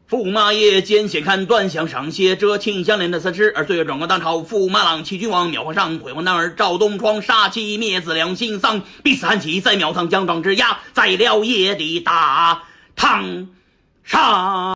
驸马爷见先看短项上写着秦香莲的死尸，而岁月转过当朝，驸马郎齐君王庙皇上，辉煌男儿赵东窗杀气灭子良心丧，逼死汉妻在庙堂奖状之压，在了夜的大堂上。